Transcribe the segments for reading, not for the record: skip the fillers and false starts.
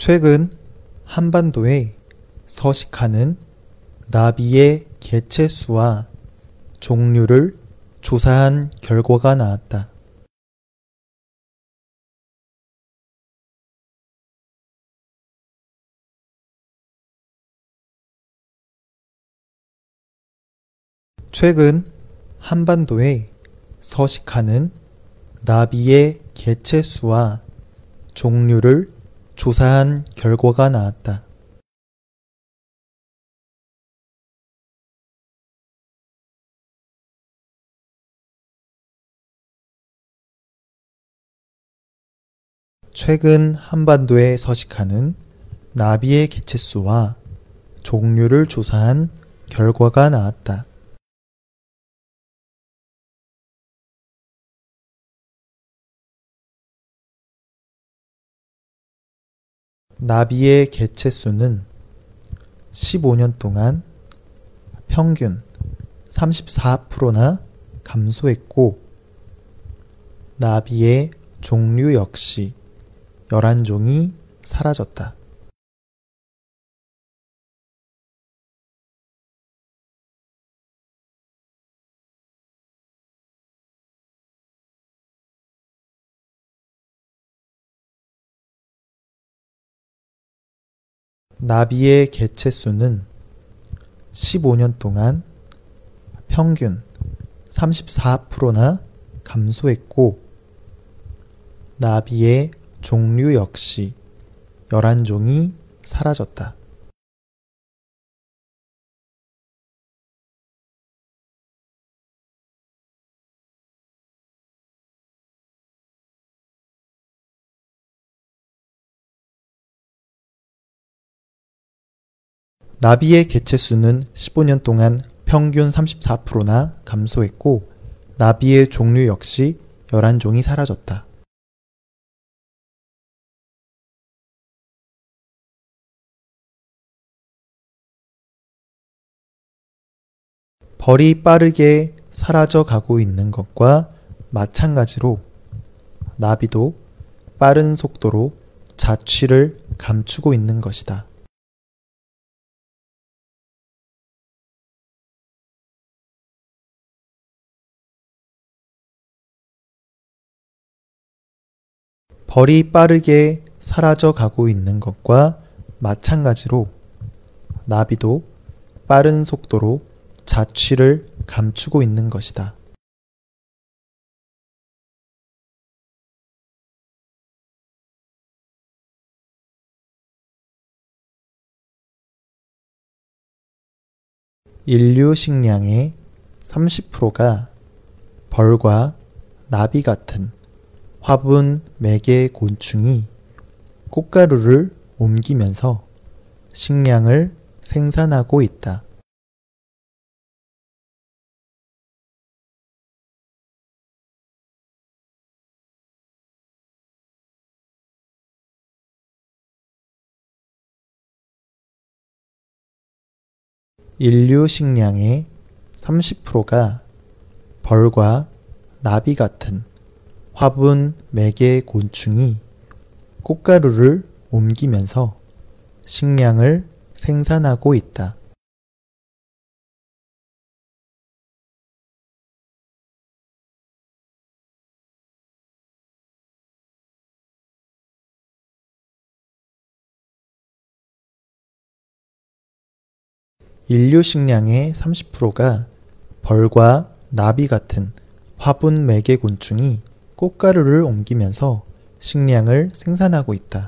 최근 한반도에 서식하는 나비의 개체 수와 종류를 조사한 결과가 나왔다. 최근 한반도에 서식하는 나비의 개체 수와 종류를 조사한 결과가 나왔다. 최근 한반도에 서식하는 나비의 개체 수와 종류를 조사한 결과가 나왔다. 나비의 개체 수는 15년 동안 평균 34%나 감소했고, 나비의 종류 역시 11종이 사라졌다. 나비의 개체 수는 15년 동안 평균 34%나 감소했고, 나비의 종류 역시 11종이 사라졌다. 나비의 개체 수는 15년 동안 평균 34%나 감소했고, 나비의 종류 역시 11종이 사라졌다. 벌이 빠르게 사라져 가고 있는 것과 마찬가지로 나비도 빠른 속도로 자취를 감추고 있는 것이다. 벌이 빠르게 사라져 가고 있는 것과 마찬가지로 나비도 빠른 속도로 자취를 감추고 있는 것이다. 인류 식량의 30%가 벌과 나비 같은 화분 매개 곤충이 꽃가루를 옮기면서 식량을 생산하고 있다. 인류 식량의 30%가 벌과 나비 같은 화분 매개 곤충이 꽃가루를 옮기면서 식량을 생산하고 있다. 인류 식량의 30%가 벌과 나비 같은 화분 매개 곤충이 꽃가루를 옮기면서 식량을 생산하고 있다.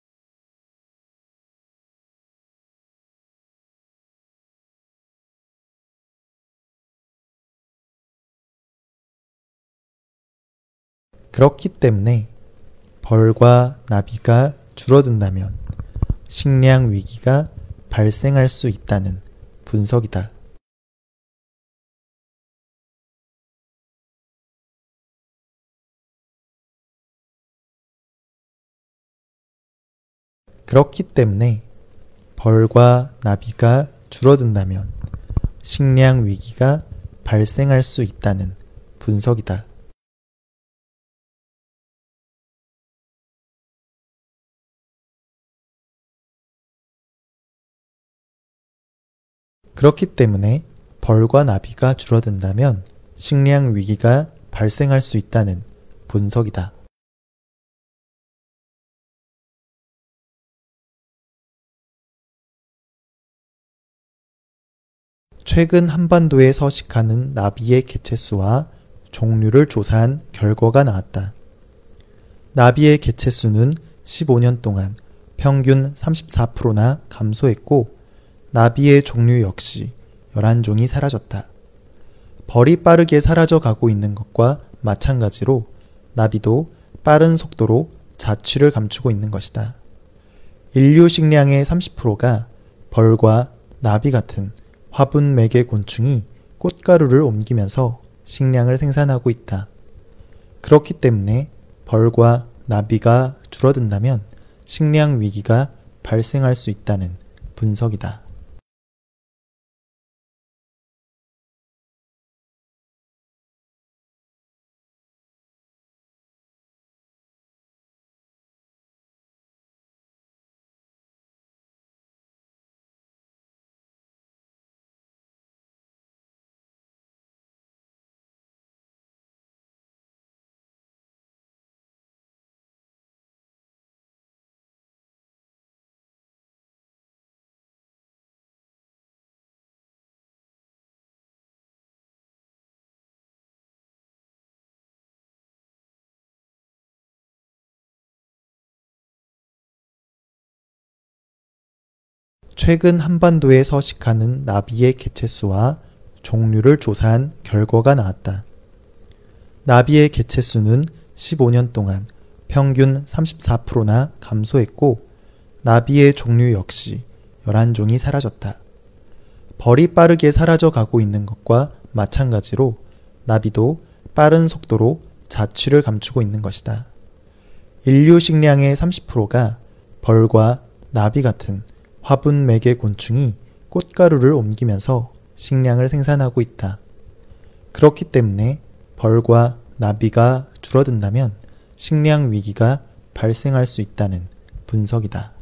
그렇기 때문에 벌과 나비가 줄어든다면 식량 위기가 발생할 수 있다는 분석이다. 그렇기 때문에 벌과 나비가 줄어든다면 식량 위기가 발생할 수 있다는 분석이다. 그렇기 때문에 벌과 나비가 줄어든다면 식량 위기가 발생할 수 있다는 분석이다. 최근 한반도에 서식하는 나비의 개체수와 종류를 조사한 결과가 나왔다. 나비의 개체수는 15년 동안 평균 34%나 감소했고, 나비의 종류 역시 11종이 사라졌다. 벌이 빠르게 사라져 가고 있는 것과 마찬가지로 나비도 빠른 속도로 자취를 감추고 있는 것이다. 인류 식량의 30%가 벌과 나비 같은 화분 매개 곤충이 꽃가루를 옮기면서 식량을 생산하고 있다. 그렇기 때문에 벌과 나비가 줄어든다면 식량 위기가 발생할 수 있다는 분석이다. 최근 한반도에 서식하는 나비의 개체수와 종류를 조사한 결과가 나왔다. 나비의 개체수는 15년 동안 평균 34%나 감소했고, 나비의 종류 역시 11종이 사라졌다. 벌이 빠르게 사라져 가고 있는 것과 마찬가지로 나비도 빠른 속도로 자취를 감추고 있는 것이다. 인류 식량의 30%가 벌과 나비 같은 화분 매개 곤충이 꽃가루를 옮기면서 식량을 생산하고 있다. 그렇기 때문에 벌과 나비가 줄어든다면 식량 위기가 발생할 수 있다는 분석이다.